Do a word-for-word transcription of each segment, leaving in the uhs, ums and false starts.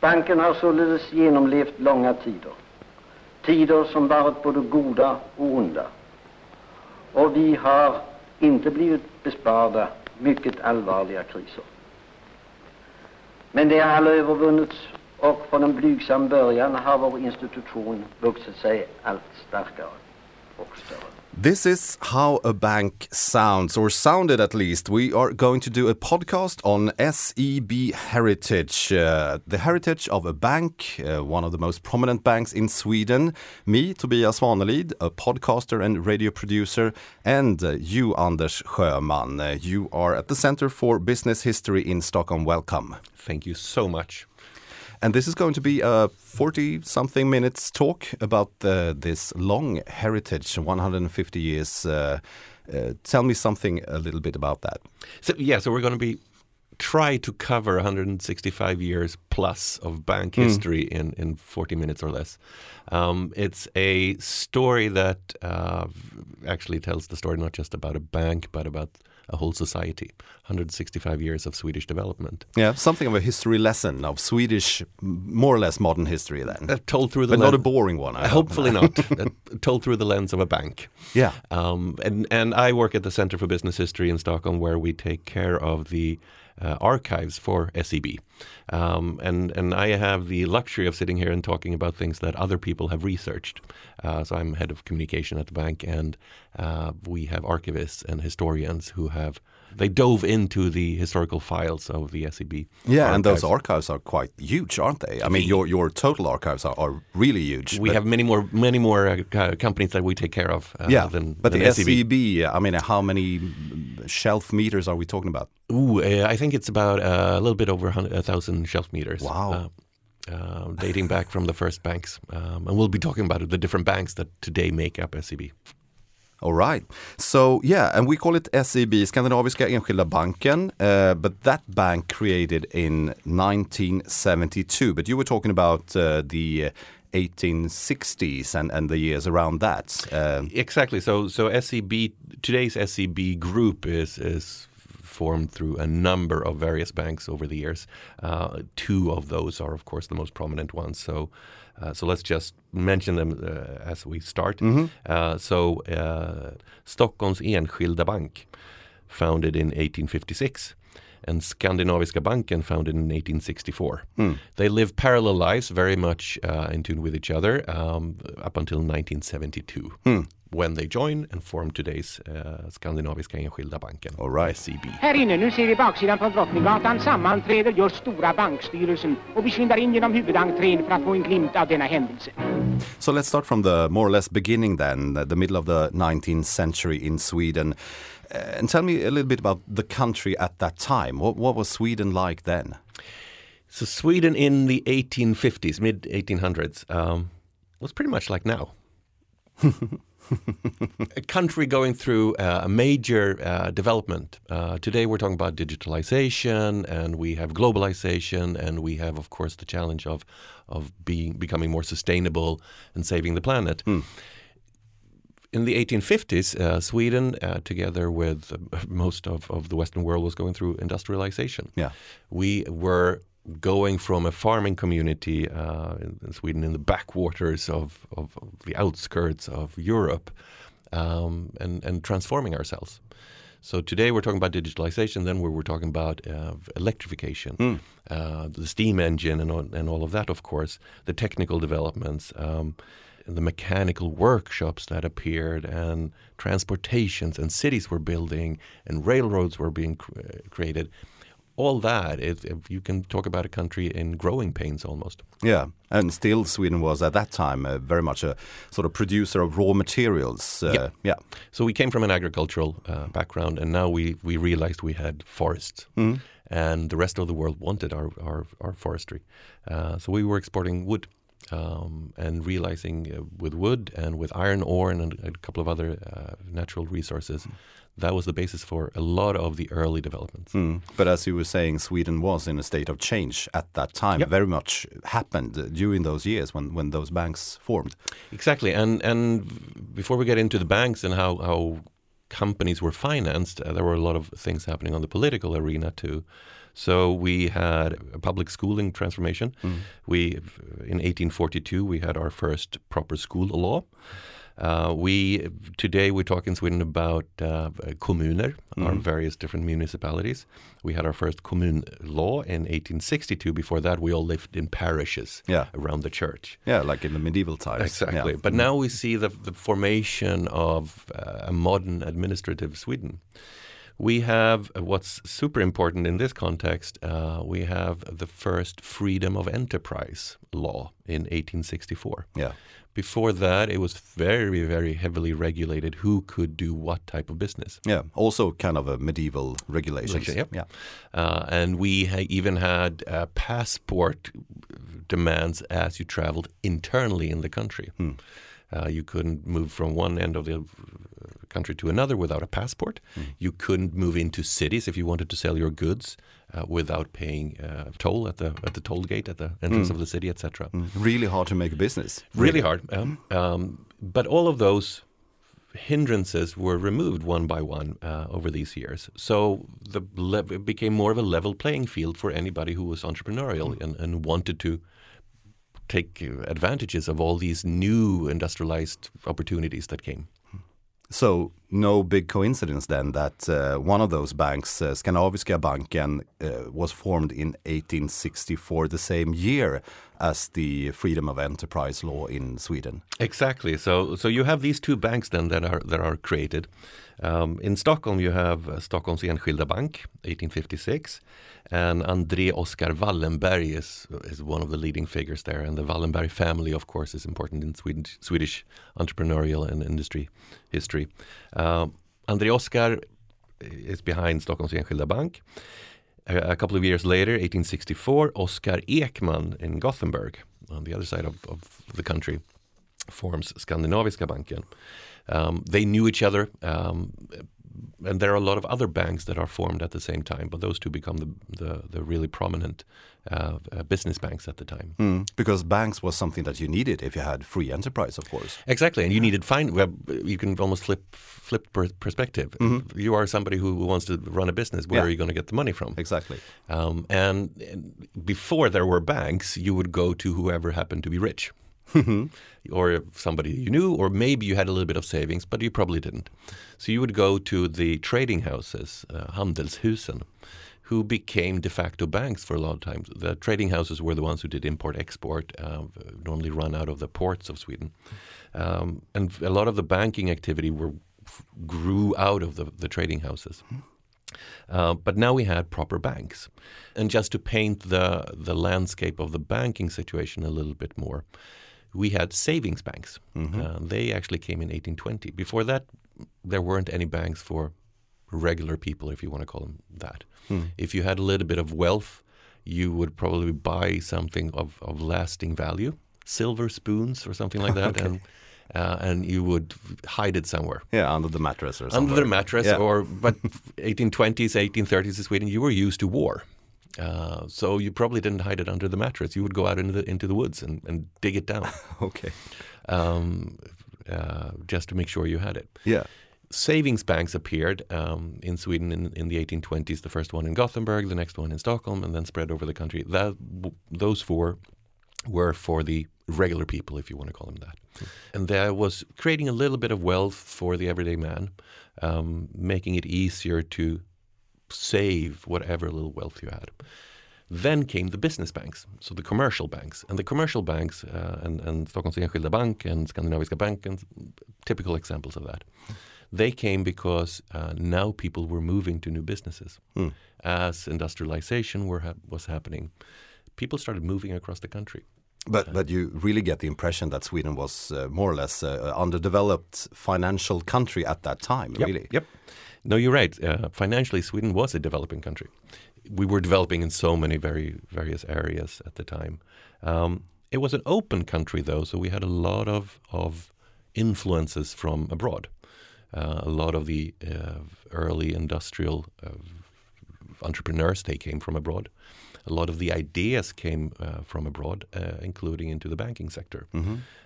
Banken har således genomlevt långa tider. Tider som varit både goda och onda. Och vi har inte blivit besparade mycket allvarliga kriser. Men det har alla övervunnits och från en blygsam början har vår institution vuxit sig allt starkare och större. This is how a bank sounds, or sounded at least. We are going to do a podcast on S E B heritage, uh, the heritage of a bank, uh, one of the most prominent banks in Sweden. Me, Tobias Svanelid, a podcaster and radio producer, and uh, you, Anders Sjöman. Uh, you are at the Center for Business History in Stockholm. Welcome. Thank you so much. And this is going to be a forty-something minutes talk about uh, this long heritage, one hundred fifty years. Uh, uh, tell me something a little bit about that. So yeah, so we're going to be try to cover one hundred sixty-five years plus of bank mm. history in, in forty minutes or less. Um, it's a story that uh, actually tells the story not just about a bank, but about a whole society. one hundred sixty-five years of Swedish development. Yeah, something of a history lesson of Swedish, more or less modern history then. Uh, told through the but lens, not a boring one. I hopefully not. uh, told through the lens of a bank. Yeah. Um, and, and I work at the Center for Business History in Stockholm, where we take care of the uh, archives for S E B. Um, and, and I have the luxury of sitting here and talking about things that other people have researched. Uh, so I'm head of communication at the bank, and uh, we have archivists and historians who have They dove into the historical files of the S E B. Yeah, archives. And those archives are quite huge, aren't they? I mean, your your total archives are, are really huge. We have many more many more uh, companies that we take care of. Uh, yeah, than, but than the S E B. S E B, I mean, how many shelf meters are we talking about? Ooh, uh, I think it's about uh, a little bit over a thousand shelf meters. Wow. Uh, uh, dating back from the first banks. Um, and we'll be talking about the different banks that today make up S E B. All right. So, yeah, and we call it S E B, Skandinaviska Enskilda Banken, uh, but that bank created in nineteen seventy-two. But you were talking about uh, the eighteen sixties and, and the years around that. Um, exactly. So, so S E B, today's S E B group is is formed through a number of various banks over the years. Uh, two of those are, of course, the most prominent ones. So. Uh, so let's just mention them uh, as we start. Mm-hmm. Uh, so uh, Stockholms Enskilda Bank, founded in eighteen fifty-six, and Skandinaviska Banken, founded in eighteen sixty-four. Mm. They live parallel lives, very much uh, in tune with each other, um, up until nineteen seventy-two, mm. when they join and form today's uh, Skandinaviska Enskilda Banken, All right. S E B. Här inne, nu ser vi baksidan på Drottninggatan, sammanträder just stora bankstyrelsen och vi skyndar in genom huvudentrén för att få en glimt av denna händelse. So let's start from the more or less beginning then, the middle of the nineteenth century in Sweden. Uh, and tell me a little bit about the country at that time. What, what was Sweden like then? So Sweden in the eighteen fifties, mid eighteen hundreds, um, was pretty much like now. A country going through uh, a major uh, development. Uh, today we're talking about digitalization, and we have globalization, and we have, of course, the challenge of of being becoming more sustainable and saving the planet. Mm. In the eighteen fifties, uh, Sweden, uh, together with uh, most of, of the Western world, was going through industrialization. Yeah, we were going from a farming community uh, in, in Sweden, in the backwaters of, of, of the outskirts of Europe, um, and, and transforming ourselves. So today we're talking about digitalization, then we were talking about uh, electrification, mm. uh, the steam engine and all, and all of that, of course, the technical developments, um, the mechanical workshops that appeared, and transportations and cities were building, and railroads were being cr- created. All that, if, if you can talk about a country in growing pains almost. Yeah, and still Sweden was at that time uh, very much a sort of producer of raw materials. Uh, yeah. yeah. So we came from an agricultural uh, background, and now we, we realized we had forests. Mm-hmm. And the rest of the world wanted our, our, our forestry. Uh, so we were exporting wood. Um, and realizing uh, with wood and with iron ore and a, a couple of other uh, natural resources, that was the basis for a lot of the early developments. Mm. But as you were saying, Sweden was in a state of change at that time. Yep. Very much happened during those years when, when those banks formed. Exactly. And and before we get into the banks and how, how companies were financed, uh, there were a lot of things happening on the political arena too. So we had a public schooling transformation. Mm. We, in eighteen forty-two, we had our first proper school law. Uh, we today we talk in Sweden about uh, kommuner, mm. our various different municipalities. We had our first kommun law in eighteen sixty-two. Before that, we all lived in parishes yeah. around the church. Yeah, like in the medieval times. Exactly. Yeah. But mm. now we see the, the formation of uh, a modern administrative Sweden. We have uh, what's super important in this context. Uh, we have the first freedom of enterprise law in eighteen sixty-four. Yeah. Before that, it was very, very heavily regulated who could do what type of business. Yeah, also kind of a medieval regulations. Yep. Yeah, uh, and we ha- even had uh, passport demands as you traveled internally in the country. Hmm. Uh, you couldn't move from one end of the country to another without a passport. Mm. You couldn't move into cities if you wanted to sell your goods uh, without paying uh, toll at the at the toll gate at the entrance mm. of the city, et cetera. Mm. Really hard to make a business. Really, really hard. Um, um, but all of those hindrances were removed one by one uh, over these years. So the le- it became more of a level playing field for anybody who was entrepreneurial mm. and, and wanted to take advantages of all these new industrialized opportunities that came. So no big coincidence then that uh, one of those banks, uh, Skandinaviska Banken, uh, was formed in eighteen sixty-four, the same year as the freedom of enterprise law in Sweden. Exactly. So so you have these two banks then that are that are created. Um, in Stockholm you have uh, Stockholms Enskilda Bank, eighteen fifty-six, and André Oskar Wallenberg is is one of the leading figures there, and the Wallenberg family, of course, is important in Sweden, Swedish entrepreneurial and industry history. Um, André Oskar is behind Stockholms Enskilda Bank. A, a couple of years later, eighteen sixty-four, Oskar Ekman in Gothenburg, on the other side of, of the country, forms Skandinaviska Banken. Um, they knew each other, um, and there are a lot of other banks that are formed at the same time, but those two become the the, the really prominent uh, uh, business banks at the time. Mm, because banks was something that you needed if you had free enterprise, of course. Exactly, and you needed fine. Well, you can almost flip flip per perspective. Mm-hmm. You are somebody who wants to run a business. Where yeah. are you going to get the money from? Exactly. Um, and, and before there were banks, you would go to whoever happened to be rich. Or somebody you knew, or maybe you had a little bit of savings, but you probably didn't. So you would go to the trading houses, uh, Handelshusen, who became de facto banks for a lot of times. The trading houses were the ones who did import-export, uh, normally run out of the ports of Sweden. Um, and a lot of the banking activity were grew out of the, the trading houses. Uh, but now we had proper banks. And just to paint the, the landscape of the banking situation a little bit more, we had savings banks. Mm-hmm. Uh, they actually came in eighteen twenty. Before that, there weren't any banks for regular people, if you want to call them that. Mm. If you had a little bit of wealth, you would probably buy something of, of lasting value, silver spoons or something like that, okay. and uh, and you would hide it somewhere. Yeah, under the mattress or something. Under the mattress, yeah. or but eighteen twenties, eighteen thirties in Sweden, you were used to war. Uh, so you probably didn't hide it under the mattress. You would go out into the into the woods and, and dig it down. Okay. Um, uh, just to make sure you had it. Yeah. Savings banks appeared um, in Sweden in, in the eighteen twenties. The first one in Gothenburg, the next one in Stockholm, and then spread over the country. That those four were for the regular people, if you want to call them that. Mm. And that was creating a little bit of wealth for the everyday man, um, making it easier to save whatever little wealth you had. Then came the business banks, so the commercial banks. And the commercial banks, uh, and, and Stockholms Enskilda Bank and Skandinaviska Banken, typical examples of that. They came because uh, now people were moving to new businesses. Mm. As industrialization were ha- was happening, people started moving across the country. But but you really get the impression that Sweden was uh, more or less uh, underdeveloped financial country at that time, yep, really. Yep. No, you're right. Uh, financially, Sweden was a developing country. We were developing in so many very various areas at the time. Um, it was an open country, though, so we had a lot of, of influences from abroad. Uh, a lot of the uh, early industrial uh, entrepreneurs, they came from abroad. A lot of the ideas came uh, from abroad, uh, including into the banking sector. Mm-hmm.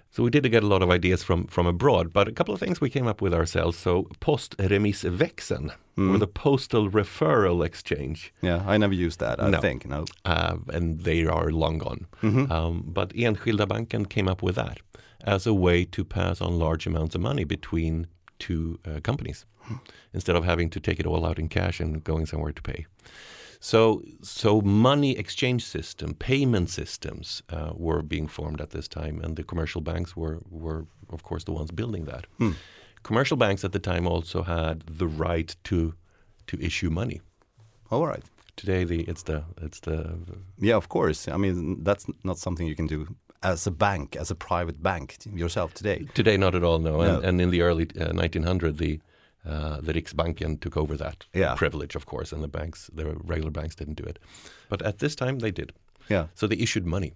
So we did get a lot of ideas from, from abroad, but a couple of things we came up with ourselves. So postremissväxeln, mm. or the postal referral exchange. Yeah, I never used that, I no. think. No, uh, and they are long gone. Mm-hmm. Um, but Enskilda Banken came up with that as a way to pass on large amounts of money between two uh, companies, mm. instead of having to take it all out in cash and going somewhere to pay. So, so money exchange system, payment systems uh, were being formed at this time, and the commercial banks were, were of course, the ones building that. Hmm. Commercial banks at the time also had the right to to issue money. All right. Today, the it's the it's the yeah, of course. I mean, that's not something you can do as a bank, as a private bank yourself today. Today, not at all. No, no. And, and in the early uh, nineteen hundreds, the Uh, the Riksbanken took over that yeah. privilege, of course, and the banks, the regular banks didn't do it. But at this time, they did. Yeah. So they issued money.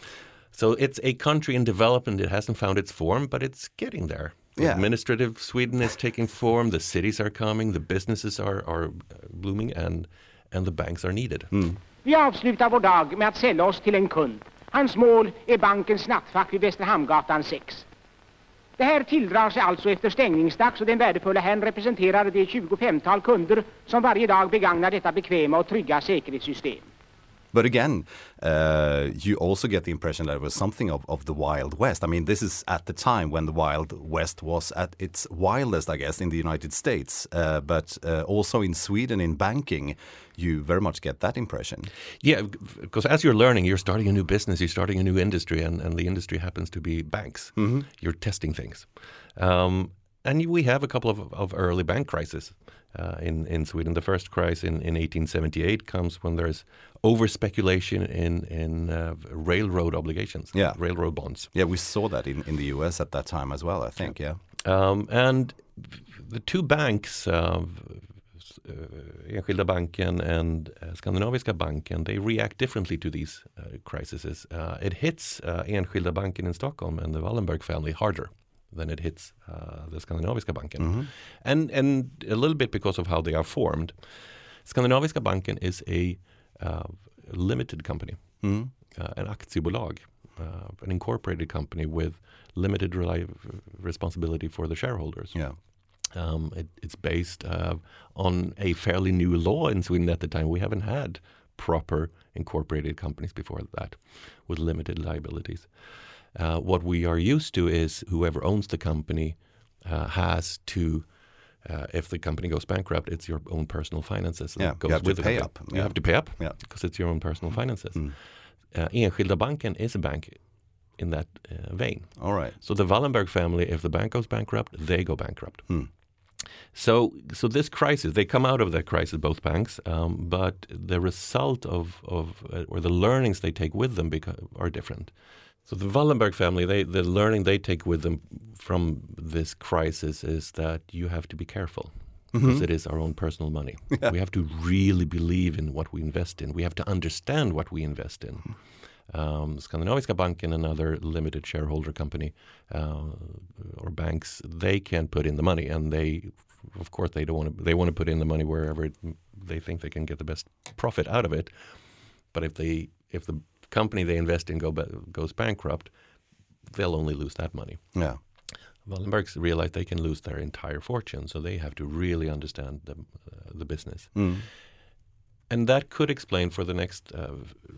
So it's a country in development. It hasn't found its form, but it's getting there. Yeah. Administrative Sweden is taking form. The cities are coming. The businesses are, are blooming, and, and the banks are needed. Mm. Vi avslutar vår dag med att sälja oss till en kund. Hans mål är bankens nattfack vid Västerhamngatan sex. Det här tilldrar sig alltså efter stängningsdags, och den värdefulla herrn representerar de tjugofemtal kunder som varje dag begagnar detta bekväma och trygga säkerhetssystem. But again, uh, you also get the impression that it was something of, of the Wild West. I mean, this is at the time when the Wild West was at its wildest, I guess, in the United States. Uh, but uh, also in Sweden, in banking, you very much get that impression. Yeah, because as you're learning, you're starting a new business, you're starting a new industry, and, and the industry happens to be banks. Mm-hmm. You're testing things. Um, and we have a couple of, of early bank crises. Uh, in, in Sweden. The first crisis in, in eighteen seventy-eight comes when there's over-speculation in, in uh, railroad obligations, yeah. railroad bonds. Yeah, we saw that in, in the U S at that time as well, I think, yeah. yeah. Um, and the two banks, uh, Enskilda Banken and uh, Skandinaviska Banken, they react differently to these uh, crises. Uh, it hits uh, Enskilda Banken in Stockholm and the Wallenberg family harder than it hits uh, the Skandinaviska Banken. Mm-hmm. And and a little bit because of how they are formed. Skandinaviska Banken is a uh, limited company, mm-hmm. uh, an aktiebolag, uh, an incorporated company with limited reli- responsibility for the shareholders. Yeah. Um, it, it's based uh, on a fairly new law in Sweden at the time. We haven't had proper incorporated companies before that with limited liabilities. Uh, what we are used to is whoever owns the company uh, has to, uh, if the company goes bankrupt, it's your own personal finances. Yeah, that goes you have with to the pay company. up. You yeah. have to pay up yeah. because it's your own personal finances. Mm. Uh, Enskilda Banken is a bank in that uh, vein. All right. So the Wallenberg family, if the bank goes bankrupt, they go bankrupt. Mm. So, so this crisis, they come out of that crisis, both banks, um, but the result of, of uh, or the learnings they take with them beca- are different. So the Wallenberg family, they, the learning they take with them from this crisis is that you have to be careful mm-hmm. because it is our own personal money. Yeah. We have to really believe in what we invest in. We have to understand what we invest in. Um, Skandinaviska Banken, another limited shareholder company uh, or banks, they can put in the money, and they, of course, they don't want to. They want to put in the money wherever it, they think they can get the best profit out of it. But if they, if the company they invest in go goes bankrupt, they'll only lose that money. Yeah. Wallenbergs realize they can lose their entire fortune, so they have to really understand the uh, the business, mm. and that could explain for the next. Uh,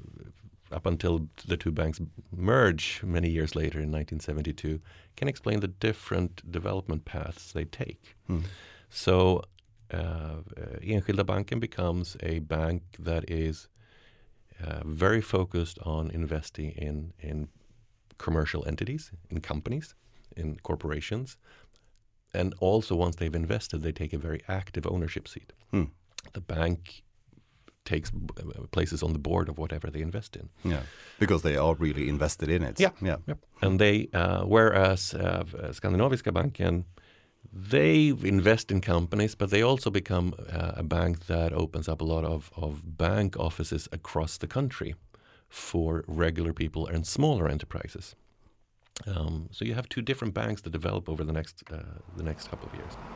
up until the two banks merge many years later in nineteen seventy-two, can explain the different development paths they take. Mm. So uh, Enskilda Banken becomes a bank that is uh, very focused on investing in, in commercial entities, in companies, in corporations. And also once they've invested, they take a very active ownership seat. Mm. The bank takes places on the board of whatever they invest in. Yeah, because they are really invested in it. Yeah, yeah. Yep. And they, uh, whereas uh, Skandinaviska Banken, they invest in companies, but they also become uh, a bank that opens up a lot of, of bank offices across the country for regular people and smaller enterprises. Um, so you have two different banks that develop over the next uh, the next couple of years.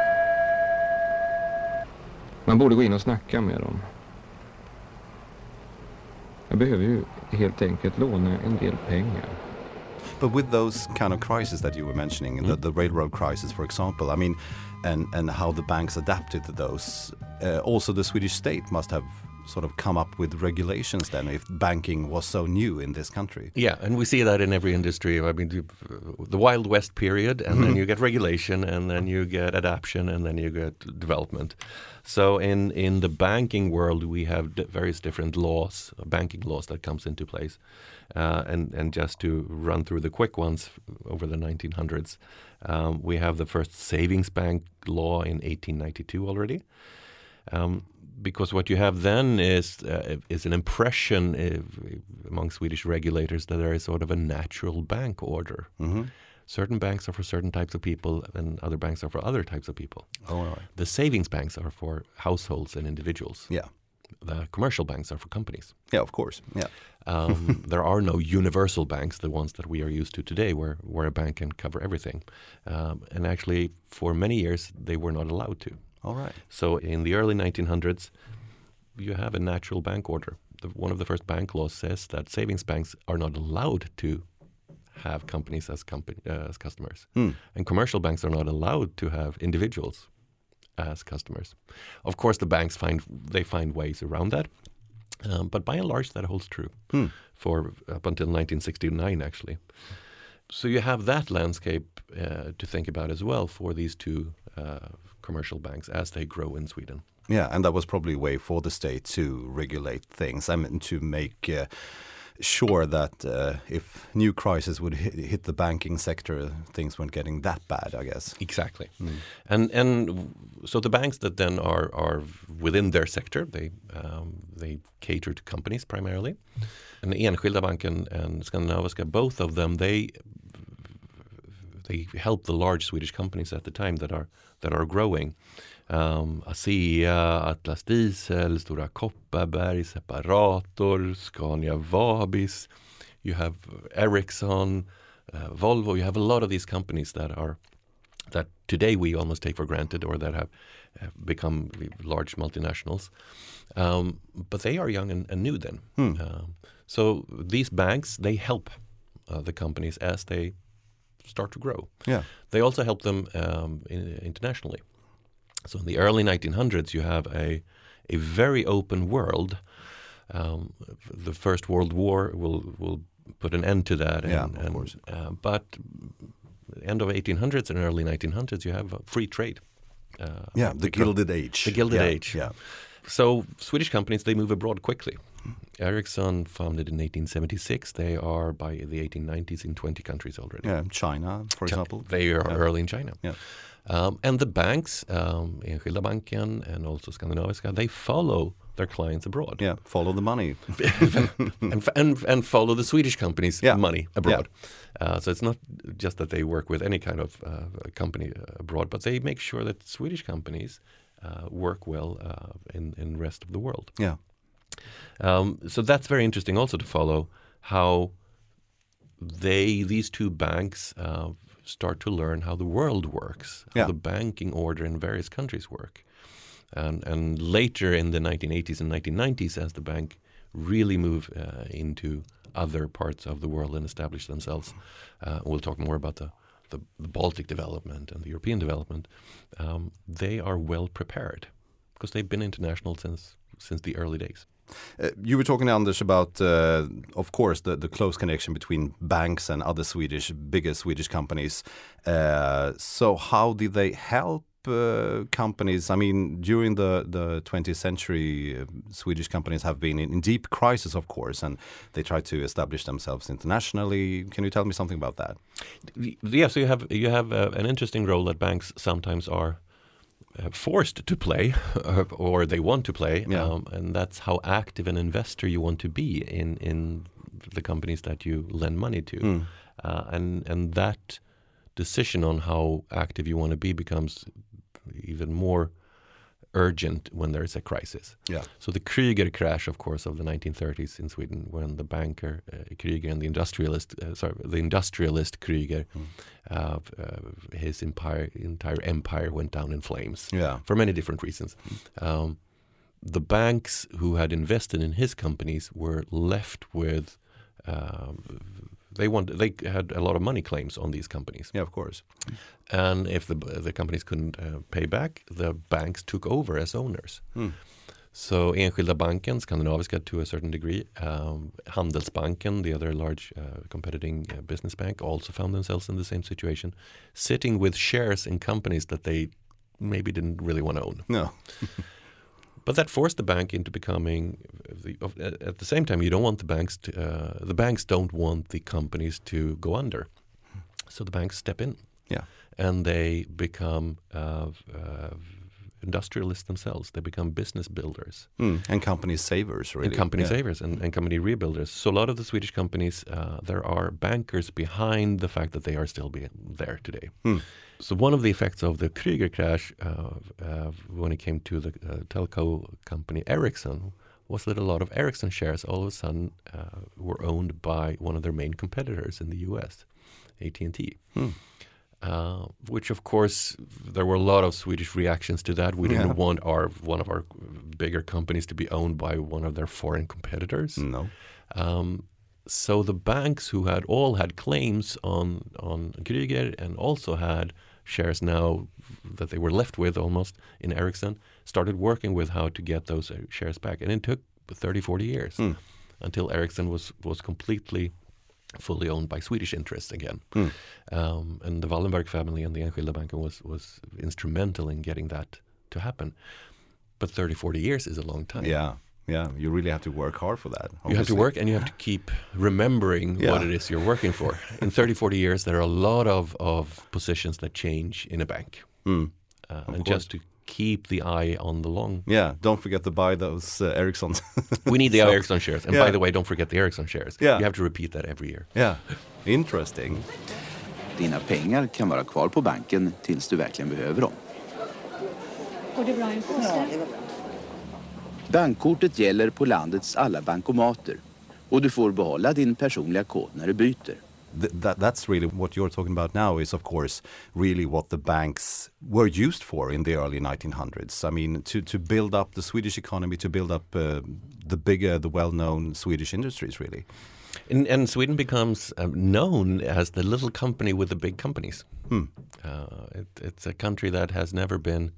Man borde gå in och snacka med dem. Jag behöver ju helt enkelt låna en del pengar. But with those kind of crises that you were mentioning, mm. the, the railroad crisis, for example, I mean, and, and how the banks adapted to those, uh, also the Swedish state must have sort of come up with regulations then if banking was so new in this country. Yeah, and we see that in every industry. I mean, the Wild West period, and mm-hmm. then you get regulation, and then you get adaption, and then you get development. So in, in the banking world, we have d- various different laws, banking laws that comes into place. Uh, and, and just to run through the quick ones over the nineteen hundreds, um, we have the first savings bank law in eighteen ninety-two already. Um, Because what you have then is uh, is an impression uh, among Swedish regulators that there is sort of a natural bank order. Mm-hmm. Certain banks are for certain types of people, and other banks are for other types of people. Oh, all right. The savings banks are for households and individuals. Yeah. The commercial banks are for companies. Yeah, of course. Yeah. um, there are no universal banks, the ones that we are used to today, where, where a bank can cover everything. Um, and actually, for many years, they were not allowed to. All right. So in the early nineteen hundreds, you have a natural bank order. The, one of the first bank laws says that savings banks are not allowed to have companies as company, uh, as customers. Mm. And commercial banks are not allowed to have individuals as customers. Of course, the banks find they find ways around that. Um, but by and large, that holds true mm. for up until nineteen sixty-nine, actually. So you have that landscape uh, to think about as well for these two uh, commercial banks as they grow in Sweden. Yeah, and that was probably a way for the state to regulate things. I mean, to make uh, sure that uh, if new crisis would hit, hit the banking sector, things weren't getting that bad, I guess. Exactly. Mm. And and so the banks that then are are within their sector, they um, they cater to companies primarily. And Enskilda Banken and Skandinaviska, both of them, they they help the large Swedish companies at the time that are that are growing. Um, ASEA, Atlas Diesel, Stora Kopparberg, Separator, Scania Vabis. You have Ericsson, uh, Volvo. You have a lot of these companies that are that today we almost take for granted, or that have, have become large multinationals. Um, but they are young and, and new then. Hmm. Um, so these banks, they help uh, the companies as they start to grow. Yeah. They also help them um, in, internationally. So in the early nineteen hundreds, you have a a very open world. Um, the First World War will will put an end to that. And, yeah, of and, course. Uh, but end of eighteen hundreds and early nineteen hundreds, you have free trade. Uh, yeah, the Gilded Age. The Gilded yeah, Age. Yeah. So Swedish companies, they move abroad quickly. Ericsson, founded in eighteen seventy-six, they are by the eighteen nineties in twenty countries already. Yeah, China, for China, example. They are yeah. early in China. Yeah. Um, and the banks, um, Enskilda Banken and also Skandinaviska, they follow their clients abroad. Yeah, follow the money. and, and and follow the Swedish companies' yeah. money abroad. Yeah. Uh, so it's not just that they work with any kind of uh, company abroad, but they make sure that Swedish companies uh, work well uh, in in the rest of the world. Yeah. Um, so that's very interesting also to follow how they these two banks uh, start to learn how the world works, how yeah. the banking order in various countries work. And, and later in the nineteen eighties and nineteen nineties, as the bank really move uh, into other parts of the world and establish themselves, uh, we'll talk more about the, the, the Baltic development and the European development, um, they are well prepared because they've been international since since the early days. Uh, you were talking, Anders, about, uh, of course, the, the close connection between banks and other Swedish, bigger Swedish companies. Uh, so how did they help uh, companies? I mean, during the, the twentieth century, uh, Swedish companies have been in, in deep crisis, of course, and they try to establish themselves internationally. Can you tell me something about that? Yeah, so you have, you have uh, an interesting role that banks sometimes are Uh, forced to play or they want to play, yeah. um, and that's how active an investor you want to be in in the companies that you lend money to. Mm. Uh, and and that decision on how active you want to be becomes even more urgent when there's a crisis. Yeah. So the Kreuger crash, of course, of the nineteen thirties in Sweden, when the banker uh, Kreuger and the industrialist, uh, sorry, the industrialist Kreuger, mm. uh, uh, his empire, entire empire went down in flames. Yeah. For many different reasons. Um, the banks who had invested in his companies were left with uh, they want they had a lot of money claims on these companies. Yeah, of course. And if the the companies couldn't uh, pay back, the banks took over as owners. Mm. So Enskilda Banken, Skandinaviska to a certain degree, um, Handelsbanken, the other large uh, competing uh, business bank, also found themselves in the same situation, sitting with shares in companies that they maybe didn't really want to own. No. But that forced the bank into becoming, the, of, at the same time, you don't want the banks to, uh, the banks don't want the companies to go under. So the banks step in. Yeah. And they become uh, uh, industrialists themselves. They become business builders. Mm. And company savers, really. And company yeah. savers and, and company rebuilders. So a lot of the Swedish companies, uh, there are bankers behind the fact that they are still be there today. Mm. So one of the effects of the Krüger crash uh, uh, when it came to the uh, telco company Ericsson was that a lot of Ericsson shares all of a sudden uh, were owned by one of their main competitors in the U S, A T and T. Mm. Uh, which of course there were a lot of Swedish reactions to that. We didn't Yeah. want our one of our bigger companies to be owned by one of their foreign competitors. No. Um, so the banks who had all had claims on on Krüger and also had shares now that they were left with almost in Ericsson started working with how to get those shares back, and it took thirty, forty years Mm. until Ericsson was was completely fully owned by Swedish interests again. Mm. Um, and the Wallenberg family and the Enskilda Banken was, was instrumental in getting that to happen. But thirty, forty years is a long time. Yeah, yeah. You really have to work hard for that. You have to work and you have to keep remembering Yeah. what it is you're working for. In thirty, forty years, there are a lot of, of positions that change in a bank. Mm. Uh, and course. just to keep the eye on the long. Yeah, don't forget to buy those uh, Ericssons. We need the So- Ericsson shares. And yeah. by the way, don't forget the Ericsson shares. Yeah. You have to repeat that every year. Yeah, interesting. Dina pengar kan vara kvar på banken tills du verkligen behöver dem. Går det bra i påse? Bankkortet gäller på landets alla bankomater och du får behålla din personliga kod när du byter. Th- that that's really what you're talking about now is, of course, really what the banks were used for in the early nineteen hundreds. I mean, to, to build up the Swedish economy, to build up uh, the bigger, the well-known Swedish industries, really. And, and Sweden becomes um, known as the little company with the big companies. Hmm. Uh, it, it's a country that has never been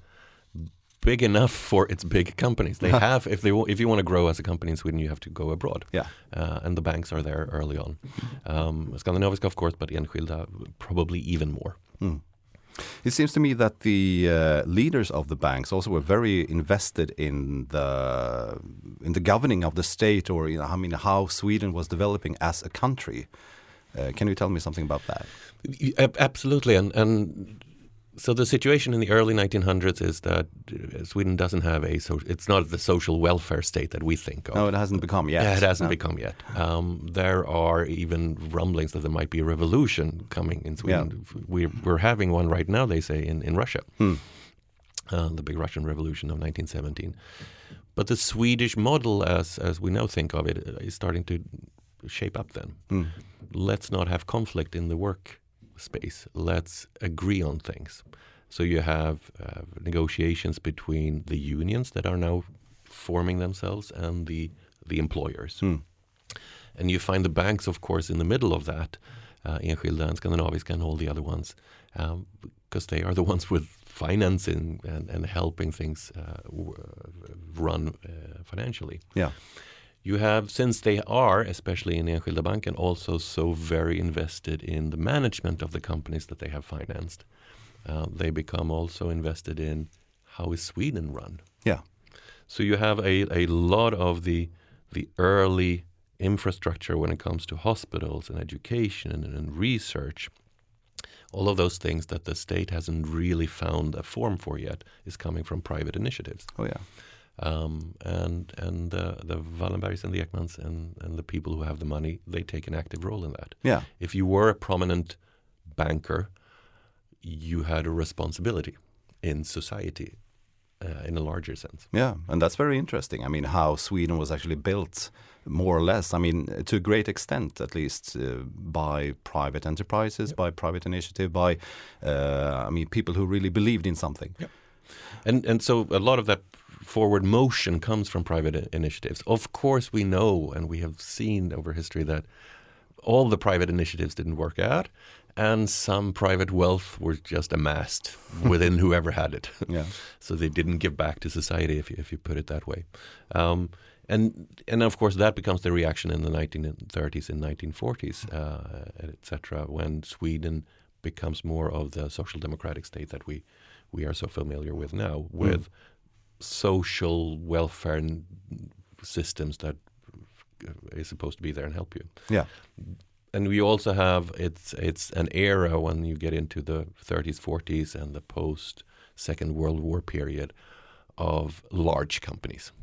big enough for its big companies. They have, if they w- if you want to grow as a company in Sweden, you have to go abroad. Yeah. Uh, and the banks are there early on. Um, Skandinaviska, of course, but Enskilda probably even more. Hmm. It seems to me that the uh, leaders of the banks also were very invested in the in the governing of the state, or you know, I mean, how Sweden was developing as a country. Uh, can you tell me something about that? Y- ab- Absolutely, and and so the situation in the early nineteen hundreds is that uh, Sweden doesn't have a so it's not the social welfare state that we think of. No, it hasn't become yet. Yeah, it hasn't No. become yet. Um, there are even rumblings that there might be a revolution coming in Sweden. Yeah. We're, we're having one right now, they say, in, in Russia. Hmm. Uh, the big Russian Revolution of nineteen seventeen. But the Swedish model, as as we now think of it, is starting to shape up then. Hmm. Let's not have conflict in the work space. Let's agree on things. So you have uh, negotiations between the unions that are now forming themselves and the the employers. Hmm. And you find the banks, of course, in the middle of that, uh, Enskilda and Skandinaviska and all the other ones, um, because they are the ones with financing and, and helping things uh, w- run uh, financially. Yeah. You have, since they are, especially in Enskilda Banken, also so very invested in the management of the companies that they have financed. Uh, they become also invested in how is Sweden run. Yeah. So you have a, a lot of the the early infrastructure when it comes to hospitals and education and, and research. All of those things that the state hasn't really found a form for yet is coming from private initiatives. Oh yeah. Um, and and uh, the Wallenbergs and the Ekmans and, and the people who have the money, they take an active role in that. Yeah. If you were a prominent banker, you had a responsibility in society uh, in a larger sense. Yeah, and that's very interesting. I mean, how Sweden was actually built, more or less, I mean, to a great extent, at least, uh, by private enterprises, yep. by private initiative, by, uh, I mean, people who really believed in something. Yep. And and so a lot of that forward motion comes from private initiatives. Of course, we know and we have seen over history that all the private initiatives didn't work out, and some private wealth were just amassed within whoever had it. Yeah. So they didn't give back to society, if you, if you put it that way. Um, and and of course that becomes the reaction in the nineteen thirties and nineteen forties, uh, et cetera, when Sweden becomes more of the social democratic state that we we are so familiar with now, with mm. social welfare n- systems that is supposed to be there and help you. Yeah. And we also have, it's it's an era when you get into the thirties, forties and the post Second World War period of large companies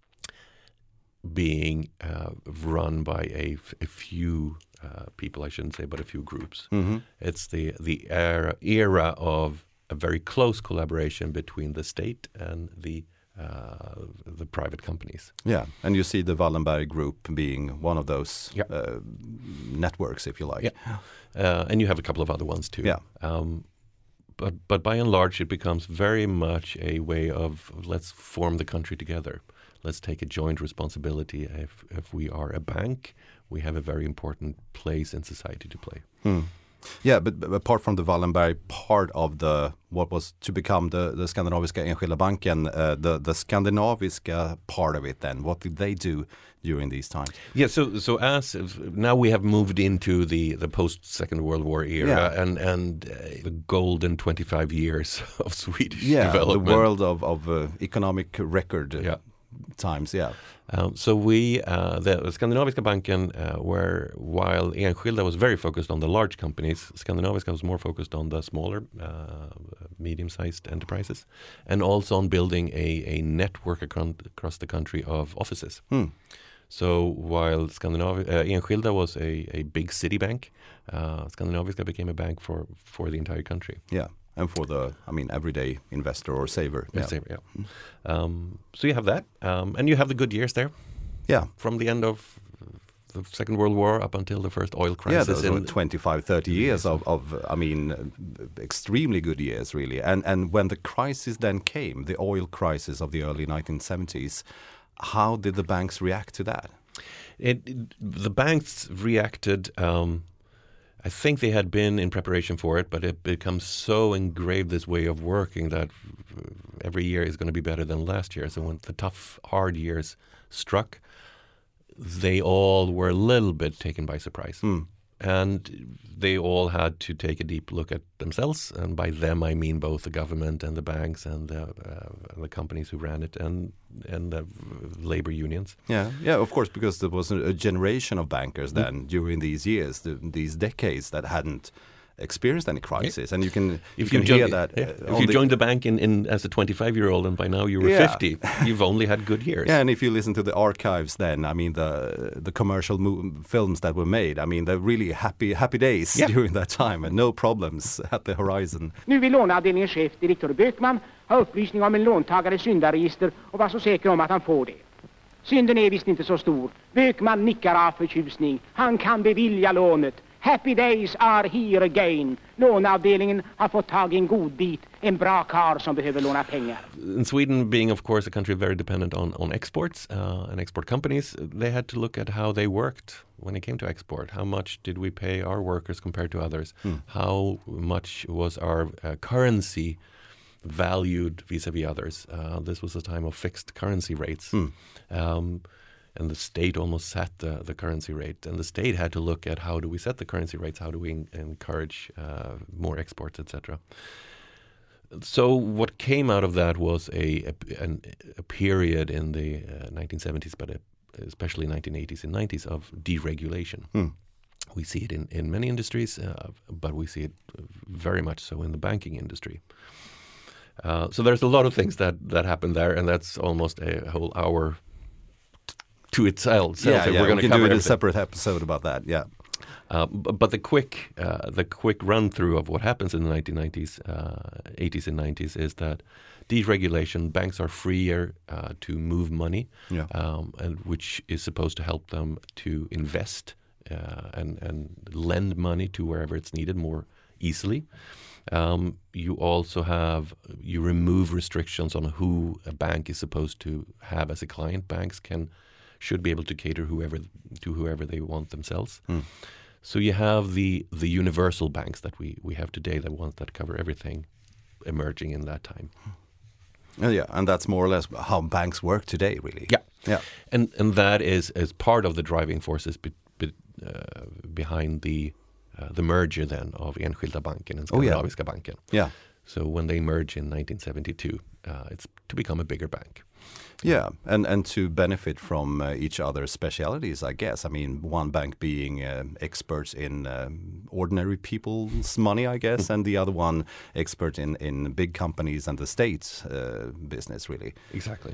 being uh, run by a, f- a few uh, people, I shouldn't say, but a few groups. Mm-hmm. It's the, the era, era of a very close collaboration between the state and the uh, the private companies. Yeah, and you see the Wallenberg Group being one of those yeah. uh, networks, if you like. Yeah. Uh, and you have a couple of other ones too. Yeah. Um, but but by and large, it becomes very much a way of let's form the country together. Let's take a joint responsibility. If if we are a bank, we have a very important place in society to play. Hmm. Yeah, but, but apart from the Wallenberg part of the what was to become the, the Skandinaviska Enskilda Banken, uh, the the Skandinaviska part of it, then what did they do during these times? Yeah, so so as now we have moved into the, the post Second World War era, yeah. and and uh, the golden twenty-five years of Swedish yeah, development. the world of of uh, economic record. Yeah. Times, yeah. Um, so we, uh, the Skandinaviska Banken, uh, where while Enskilda was very focused on the large companies, Skandinaviska was more focused on the smaller, uh, medium-sized enterprises, and also on building a, a network ac- across the country of offices. Hmm. So while Skandinaviska, uh, Enskilda was a, a big city bank, uh, Skandinaviska became a bank for, for the entire country. Yeah. And for the, I mean, everyday investor or saver. Yeah. Saver, yeah. Um, so you have that. Um, and you have the good years there. Yeah. From the end of the Second World War up until the first oil crisis. Yeah, those were twenty-five, thirty years of, of, I mean, extremely good years, really. And and when the crisis then came, the oil crisis of the early nineteen seventies, how did the banks react to that? It, it, the banks reacted... Um, I think they had been in preparation for it, but it becomes so engraved, this way of working, that every year is going to be better than last year. So when the tough, hard years struck, they all were a little bit taken by surprise. Mm. And they all had to take a deep look at themselves. And by them, I mean both the government and the banks and the, uh, the companies who ran it and and the labor unions. Yeah, yeah, of course, because there was a generation of bankers then mm. during these years, the, these decades, that hadn't experienced any crisis. Yeah. And you can, if you you can hear jo- that. Yeah. Uh, if you the joined the bank in, in as a twenty-five-year-old and by now you were yeah. fifty, you've only had good years. Yeah, and if you listen to the archives then, I mean, the the commercial mo- films that were made, I mean, they're really happy happy days yeah. during that time and no problems at the horizon. Nu vill låneavdelningens chef, direktör Bökman, ha upplysning om en låntagares syndaregister och vara så säker om att han får det. Synden är visst inte så stor. Bökman nickar av förtjusning. Han kan bevilja lånet. Happy days are here again. Låneavdelningen har fått tag i en god bit, en bra kar som behöver låna pengar. In Sweden, being of course a country very dependent on, on exports uh, and export companies, they had to look at how they worked when it came to export. How much did we pay our workers compared to others? Mm. How much was our uh, currency valued vis-a-vis others? Uh, this was a time of fixed currency rates. Mm. Um, And the state almost set the, the currency rate. And the state had to look at how do we set the currency rates, how do we en- encourage uh, more exports, et cetera. So what came out of that was a, a, an, a period in the uh, nineteen seventies, but a, especially nineteen eighties and nineties, of deregulation. Mm. We see it in, in many industries, uh, but we see it very much so in the banking industry. Uh, so there's a lot of things that, that happened there, and that's almost a whole hour to itself. Yeah, so yeah, we're going we to can cover do a everything. separate episode about that. Yeah, uh, b- but the quick, uh, the quick run through of what happens in the nineteen nineties, uh, eighties, and nineties is that deregulation. Banks are freer uh, to move money, yeah. um, and which is supposed to help them to invest uh, and and lend money to wherever it's needed more easily. Um, you also have, you remove restrictions on who a bank is supposed to have as a client. Banks can, should be able to cater whoever to whoever they want themselves. Mm. So you have the the universal banks that we, we have today, the ones that cover everything, emerging in that time. Oh, yeah, and that's more or less how banks work today, really. Yeah, yeah, and and that is as part of the driving forces be, be, uh, behind the uh, the merger then of Enskilda Banken and Skandinaviska oh, yeah. Banken. Yeah. So when they merge in nineteen seventy-two, uh, it's to become a bigger bank. Yeah, and, and to benefit from uh, each other's specialities, I guess. I mean, one bank being uh, experts in um, ordinary people's money, I guess, and the other one expert in, in big companies and the state uh, business, really. Exactly.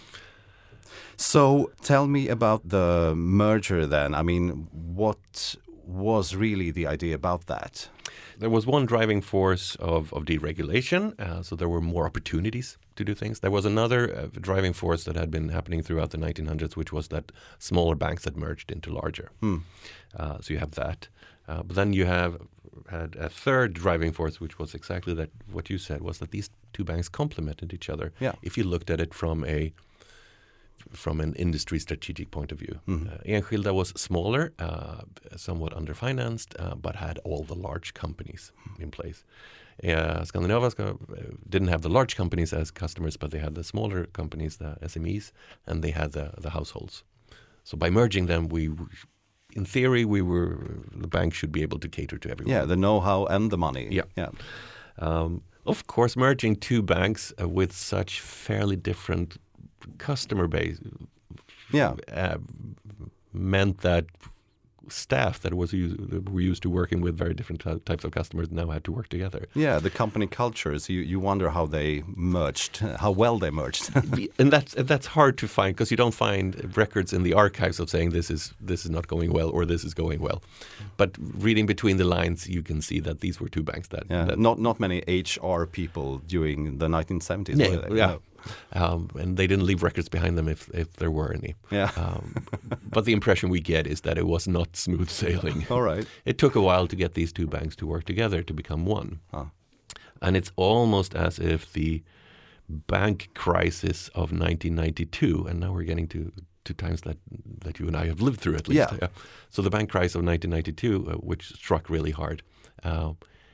So tell me about the merger then. I mean, what was really the idea about that? There was one driving force of, of deregulation, uh, so there were more opportunities to do things. There was another uh, driving force that had been happening throughout the nineteen hundreds, which was that smaller banks had merged into larger. Hmm. Uh, so you have that. Uh, but then you have had a third driving force, which was exactly that. What you said was that these two banks complemented each other. Yeah. If you looked at it from a from an industry strategic point of view. Mm-hmm. Uh, Enskilda was smaller, uh, somewhat underfinanced, uh, but had all the large companies in place. Uh, Skandinaviska didn't have the large companies as customers, but they had the smaller companies, the S M Es, and they had the, the households. So by merging them, we, in theory, we were the bank should be able to cater to everyone. Yeah, the know-how and the money. Yeah. yeah. Um, of course, merging two banks uh, with such fairly different customer base yeah. uh, meant that staff that was used, that were used to working with very different t- types of customers now had to work together. Yeah, the company cultures, you, you wonder how they merged, how well they merged. And that's that's hard to find because you don't find records in the archives of saying this is this is not going well or this is going well. But reading between the lines, you can see that these were two banks that... Yeah, that not not many H R people during the nineteen seventies. Yeah, were they? yeah. No. Um, and they didn't leave records behind them if, if there were any. Yeah. Um, but the impression we get is that it was not smooth sailing. All right. It took a while to get these two banks to work together to become one. Huh. And it's almost as if the bank crisis of nineteen ninety-two, and now we're getting to, to times that, that you and I have lived through at least. Yeah. Yeah. So the bank crisis of nineteen ninety-two, uh, which struck really hard, uh,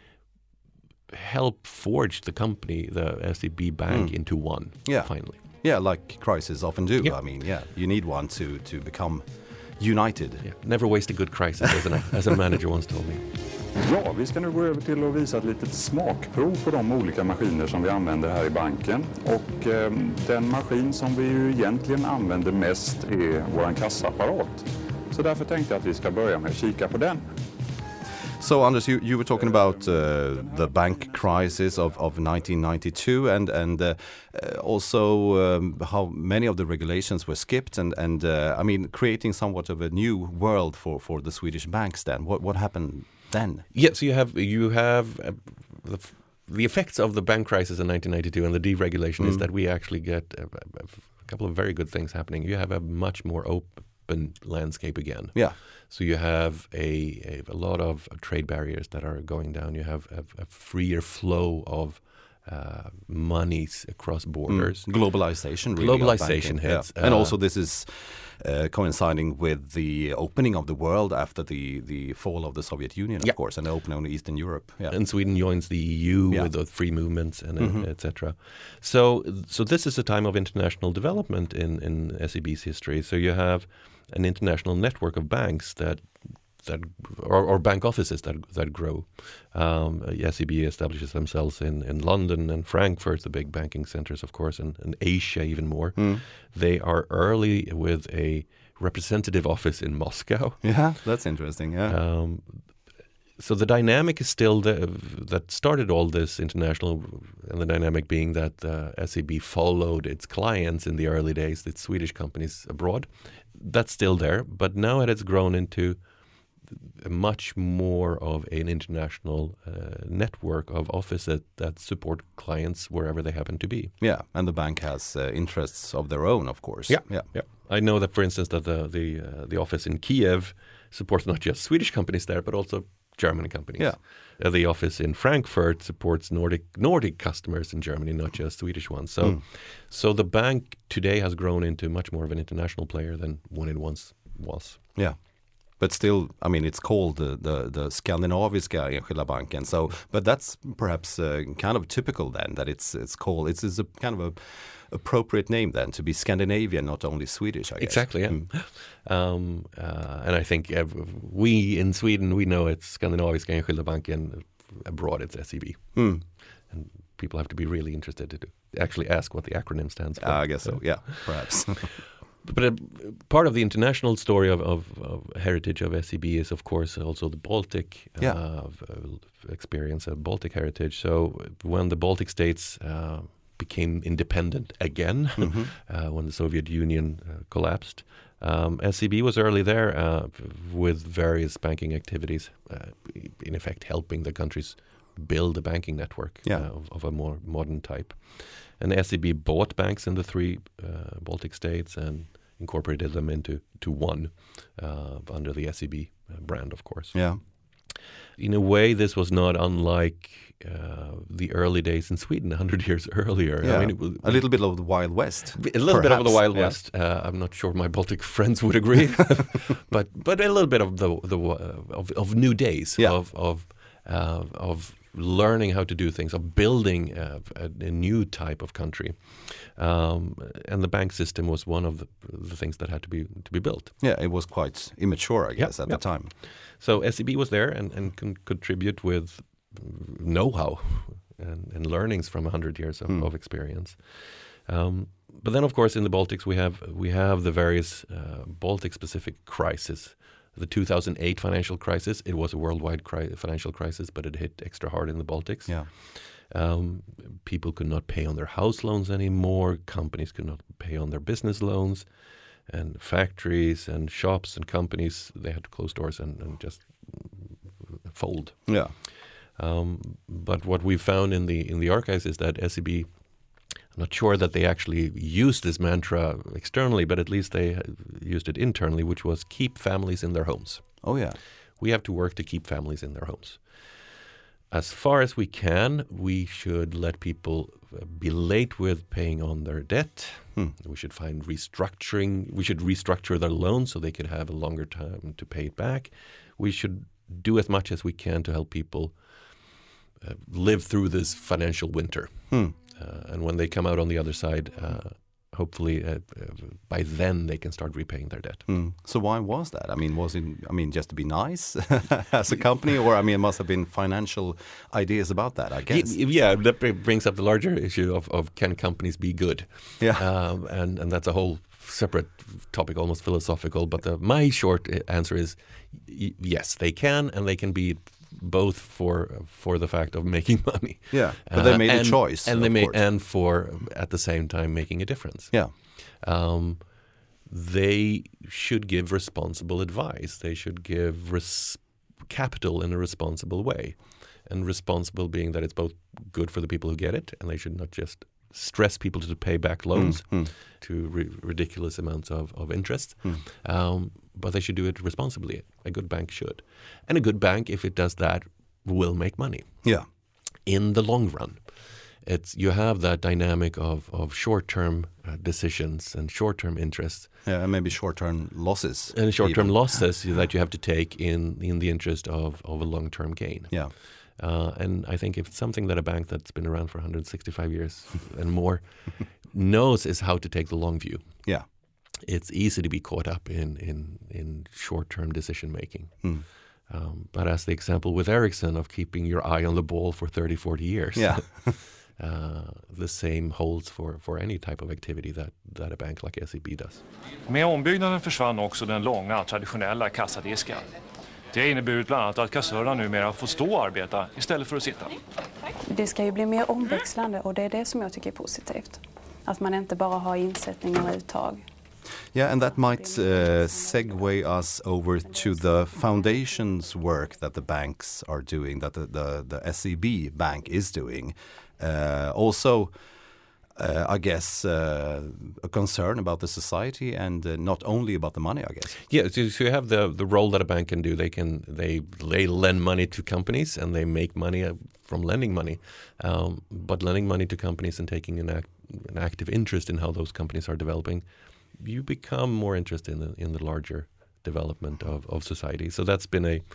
help forge the company, the S E B Bank, mm. into one, yeah. finally. Yeah, like crises often do. Yeah. I mean, yeah, you need one to, to become united. Yeah. Never waste a good crisis, as, an, as a manager once told me. Ja, vi ska nu gå över till att visa ett litet smakprov på de olika maskiner som vi använder här i banken. Och eh, den maskin som vi ju egentligen använder mest är vår kassaapparat. Så därför tänkte jag att vi ska börja med att kika på den. So, Anders, you, you were talking about uh, the bank crisis of, of nineteen ninety-two and, and uh, also um, how many of the regulations were skipped and, and uh, I mean, creating somewhat of a new world for, for the Swedish banks then. What, what happened then? Yeah, so you have, you have uh, the, the effects of the bank crisis in nineteen ninety-two and the deregulation mm. is that we actually get a, a couple of very good things happening. You have a much more open landscape again. Yeah. So you have a, a, a lot of trade barriers that are going down. You have a, a freer flow of uh, monies across borders. Mm. Globalization, really. Globalization hits. Yeah. And uh, also this is uh, coinciding with the opening of the world after the, the fall of the Soviet Union, of yeah. course, and the opening of Eastern Europe. Yeah. And Sweden joins the E U yeah. with the free movements and mm-hmm. uh, et cetera. So, so this is a time of international development in, in S E B's history. So you have an international network of banks that that or, or bank offices that that grow. Um, S E B establishes themselves in, in London and Frankfurt, the big banking centers, of course, and, and Asia even more. Mm. They are early with a representative office in Moscow. Yeah, that's interesting. Yeah. Um, so the dynamic is still the, that started all this international, and the dynamic being that uh, S E B followed its clients in the early days, its Swedish companies abroad. That's still there, but now it has grown into a much more of an international uh, network of offices that, that support clients wherever they happen to be. Yeah, and the bank has uh, interests of their own, of course. Yeah, yeah, yeah. I know that, for instance, that the the uh, the office in Kiev supports not just Swedish companies there, but also German companies. Yeah. Uh, the office in Frankfurt supports Nordic Nordic customers in Germany, not just Swedish ones. So, mm. so the bank today has grown into much more of an international player than when it once was. Yeah. But still, I mean, it's called the the, the Skandinaviska Enskilda Banken. So, but that's perhaps uh, kind of typical then that it's it's called it's, it's a kind of a appropriate name then to be Scandinavian, not only Swedish, I guess. Exactly, yeah. Mm. Um, uh, and I think uh, we in Sweden, we know it's Skandinaviska Enskilda Banken. Abroad, it's S E B. Mm. And people have to be really interested to actually ask what the acronym stands for. Uh, I guess so, yeah, perhaps. But a, part of the international story of, of, of heritage of S E B is, of course, also the Baltic yeah. uh, experience of Baltic heritage. So when the Baltic states uh, became independent again, mm-hmm. uh, when the Soviet Union uh, collapsed, um, S E B was early there uh, with various banking activities, uh, in effect helping the countries build a banking network yeah. uh, of, of a more modern type. And S E B bought banks in the three uh, Baltic states and incorporated them into to one uh, under the S E B uh, brand, of course. Yeah. In a way, this was not unlike uh, the early days in Sweden, a hundred years earlier. Yeah. I mean, it was, a little bit of the Wild West. A little perhaps. bit of the Wild yeah. West. Uh, I'm not sure my Baltic friends would agree, but but a little bit of the the uh, of, of new days yeah. of of uh, of. learning how to do things, of building uh, a, a new type of country, um, and the bank system was one of the, the things that had to be to be built. Yeah, it was quite immature, I guess, yep, at yep. the time. So S E B was there and, and can contribute with know-how and, and learnings from a hundred years of, mm. of experience. Um, but then, of course, in the Baltics we have we have the various uh, Baltic-specific crises. The two thousand eight financial crisis, it was a worldwide cri- financial crisis, but it hit extra hard in the Baltics. Yeah. Um, people could not pay on their house loans anymore. Companies could not pay on their business loans. And factories and shops and companies, they had to close doors and, and just fold. Yeah. Um, but what we found in the in the archives is that S E B, I'm not sure that they actually used this mantra externally, but at least they used it internally, which was keep families in their homes. Oh, yeah. We have to work to keep families in their homes. As far as we can, we should let people be late with paying on their debt. Hmm. We should find restructuring. We should restructure their loans so they could have a longer time to pay it back. We should do as much as we can to help people uh, live through this financial winter. Hmm. Uh, and when they come out on the other side, uh, hopefully uh, uh, by then they can start repaying their debt. Mm. So why was that? I mean, was it, I mean, just to be nice as a company, or I mean, it must have been financial ideas about that, I guess. Yeah, that brings up the larger issue of, of can companies be good? Yeah. Um, and, and that's a whole separate topic, almost philosophical. But the, my short answer is y- yes, they can, and they can be both for for the fact of making money. Yeah, but they made uh, and, a choice, and they made course. and for at the same time making a difference. Yeah, um, they should give responsible advice. They should give res- capital in a responsible way, and responsible being that it's both good for the people who get it, and they should not just stress people to pay back loans mm, mm. to ri- ridiculous amounts of, of interest. Mm. Um, but they should do it responsibly. A good bank should. And a good bank, if it does that, will make money. Yeah. In the long run. It's you have that dynamic of, of short-term uh, decisions and short-term interests. Yeah, and maybe short-term losses. And short-term even. losses that you have to take in, in the interest of, of a long-term gain. Yeah. Uh, and I think if it's something that a bank that's been around for one hundred sixty-five years and more knows is how to take the long view. Yeah. It's easy to be caught up in, in, in short-term decision-making. Mm. Um, but as the example with Ericsson of keeping your eye on the ball for thirty, forty years, yeah. uh, the same holds for, for any type of activity that, that a bank like S E B does. Med ombyggnaden försvann också den långa traditionella kassadisken. Det har inneburit bland annat att kassörerna numera får stå och arbeta istället för att sitta. Det ska ju bli mer omväxlande och det är det som jag tycker är positivt. Att man inte bara har insättningar och uttag. Yeah, and that might uh, segue us over to the foundation's work that the banks are doing, that the, the, the S E B bank is doing. Uh, also, uh, I guess, uh, a concern about the society and uh, not only about the money, I guess. Yeah, so, so you have the, the role that a bank can do. They can they they lend money to companies and they make money from lending money. Um, but lending money to companies and taking an, act, an active interest in how those companies are developing, you become more interested in the, in the larger development of, of society. So that's been a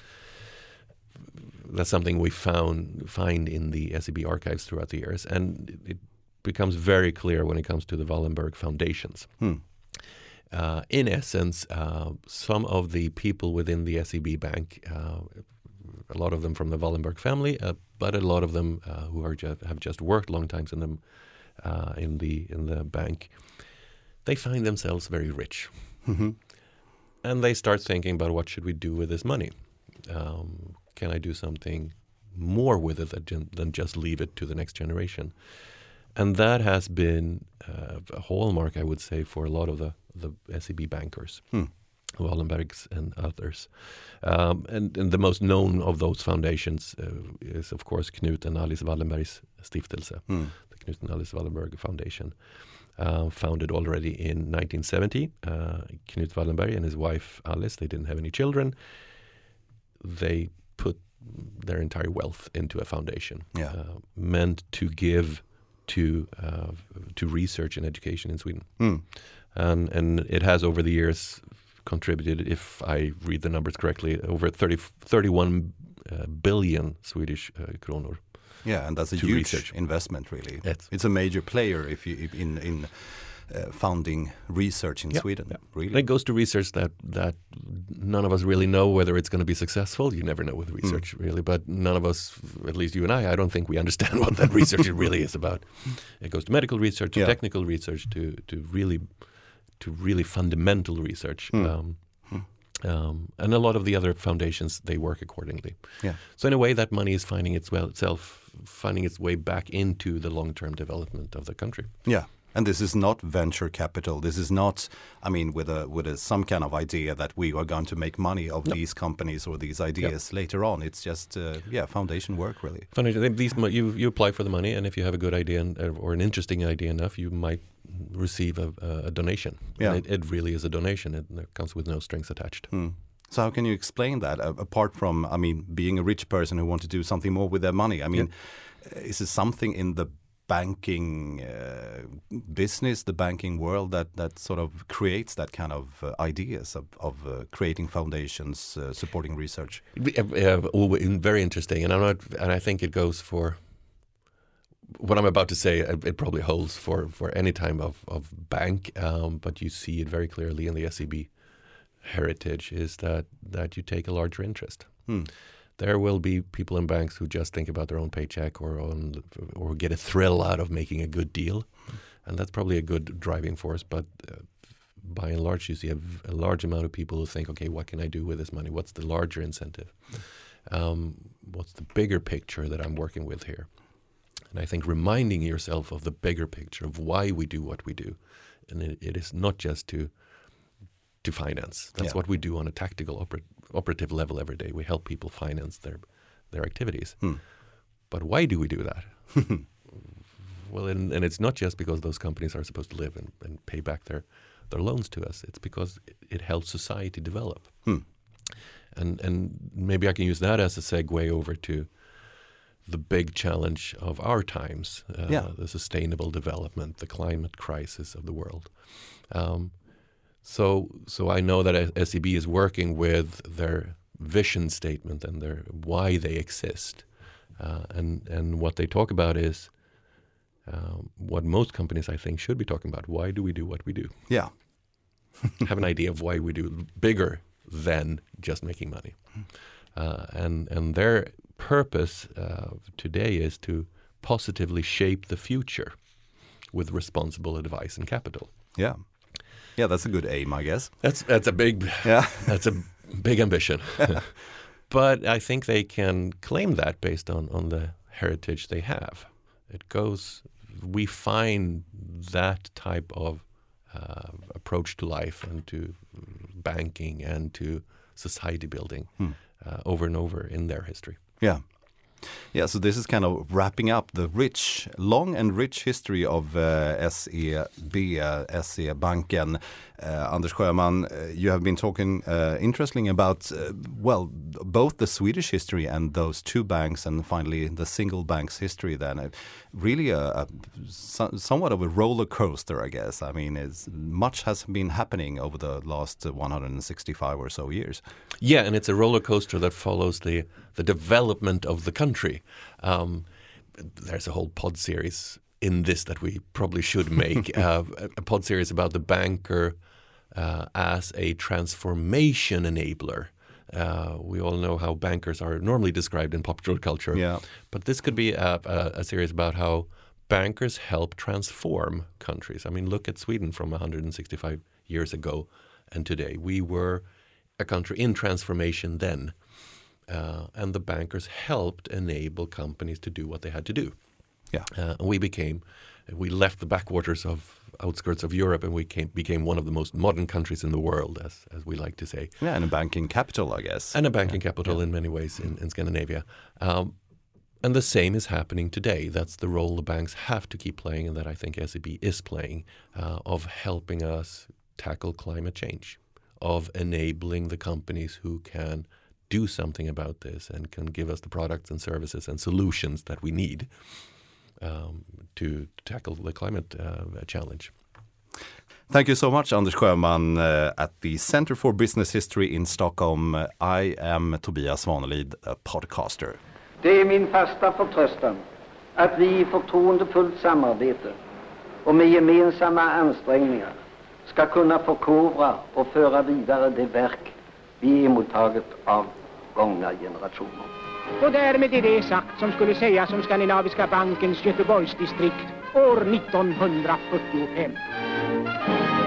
that's something we found find in the S E B archives throughout the years, and it becomes very clear when it comes to the Wallenberg foundations. Hmm. Uh, in essence, uh, some of the people within the S E B bank, uh, a lot of them from the Wallenberg family, uh, but a lot of them uh, who are just, have just worked long times in them uh, in the in the bank, they find themselves very rich, mm-hmm. and they start thinking about what should we do with this money. Um, can I do something more with it than, than just leave it to the next generation? And that has been uh, a hallmark, I would say, for a lot of the, the S E B bankers, hmm. Wallenbergs and others. Um, and, and the most known of those foundations uh, is, of course, Knut and Alice Wallenbergs Stiftelse, hmm. the Knut and Alice Wallenberg Foundation, uh, founded already in nineteen seventy. Uh, Knut Wallenberg and his wife Alice, they didn't have any children. They put their entire wealth into a foundation, yeah. uh, meant to give to uh, to research and education in Sweden. Mm. And, and it has over the years contributed, if I read the numbers correctly, over thirty, thirty-one uh, billion Swedish uh, kronor. Yeah, and that's a huge research. investment, really. Yes. It's a major player if you if in in uh, funding research in yeah, Sweden. Yeah. Really, and it goes to research that that none of us really know whether it's going to be successful. You never know with research, mm. really. But none of us, at least you and I, I don't think we understand what that research really is about. It goes to medical research, to yeah. technical research, to to really to really fundamental research. Mm. Um, Um, and a lot of the other foundations, they work accordingly. Yeah. So in a way, that money is finding its well itself, finding its way back into the long-term development of the country. Yeah, and this is not venture capital. This is not, I mean, with a with a, some kind of idea that we are going to make money of no. these companies or these ideas yeah. later on. It's just, uh, yeah, foundation work really. Foundation. These you you apply for the money, and if you have a good idea and, or an interesting idea enough, you might receive a, a donation. Yeah. It, it really is a donation. It, it comes with no strings attached. Hmm. So how can you explain that, uh, apart from, I mean, being a rich person who wants to do something more with their money? I mean, yeah. is it something in the banking uh, business, the banking world, that, that sort of creates that kind of uh, ideas of, of uh, creating foundations, uh, supporting research? Uh, uh, very interesting. And I'm not, and I think it goes for what I'm about to say, it probably holds for, for any time of, of bank, um, but you see it very clearly in the S E B heritage, is that, that you take a larger interest. Hmm. There will be people in banks who just think about their own paycheck or on, or get a thrill out of making a good deal, and that's probably a good driving force, but uh, by and large you see a, a large amount of people who think, okay, what can I do with this money? What's the larger incentive? Um, what's the bigger picture that I'm working with here? And I think reminding yourself of the bigger picture of why we do what we do. And it, it is not just to to finance. That's yeah. what we do on a tactical oper- operative level every day. We help people finance their their activities. Hmm. But why do we do that? Well, and, and it's not just because those companies are supposed to live and, and pay back their, their loans to us. It's because it, it helps society develop. Hmm. And and maybe I can use that as a segue over to the big challenge of our times, uh, yeah. the sustainable development, the climate crisis of the world. Um, so, so I know that S E B is working with their vision statement and their why they exist, uh, and and what they talk about is um, what most companies, I think, should be talking about. Why do we do what we do? Yeah, have an idea of why we do bigger than just making money, uh, and and their purpose uh, today is to positively shape the future with responsible advice and capital. Yeah, yeah, that's a good aim, I guess. That's that's a big yeah, that's a big ambition. But I think they can claim that based on on the heritage they have. It goes. We find that type of uh, approach to life and to banking and to society building hmm. uh, over and over in their history. Yeah. Yeah, so this is kind of wrapping up the rich, long and rich history of uh, S E B, uh, S E Banken. Uh, Anders Sjöman, uh, you have been talking uh, interesting about, uh, well, both the Swedish history and those two banks and finally the single bank's history then. Uh, really a, a, so, somewhat of a roller coaster, I guess. I mean, it's, much has been happening over the last one hundred sixty-five or so years. Yeah, and it's a roller coaster that follows the, the development of the country. Um, there's a whole pod series in this that we probably should make, uh, a pod series about the banker uh, as a transformation enabler. Uh, we all know how bankers are normally described in popular culture, yeah. but this could be a, a, a series about how bankers help transform countries. I mean, look at Sweden from one hundred sixty-five years ago and today. We were a country in transformation then, uh, and the bankers helped enable companies to do what they had to do. Yeah, uh, and we became, we left the backwaters of outskirts of Europe, and we came, became one of the most modern countries in the world, as as we like to say. Yeah, and a banking capital, I guess. And a banking yeah. capital yeah. in many ways in, in Scandinavia. Um, and the same is happening today. That's the role the banks have to keep playing, and that I think S E B is playing, uh, of helping us tackle climate change, of enabling the companies who can do something about this and can give us the products and services and solutions that we need. Um, to tackle the climate uh, challenge. Thank you so much, Anders Sjöman, uh, at the Center for Business History in Stockholm. I am Tobias Svanelid, a podcaster. Det är min fasta förtröstan att vi i förtroendefullt samarbete och med gemensamma ansträngningar ska kunna förkovra och föra vidare det verk vi emottaget av gångna generationer. Och därmed är det sagt som skulle sägas om Skandinaviska bankens Göteborgsdistrikt år nittonhundrafyrtiofem.